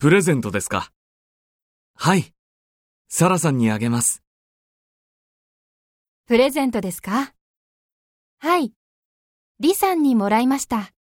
プレゼントですか？はい。サラさんにあげます。 プレゼントですか？はい。リさんにもらいました。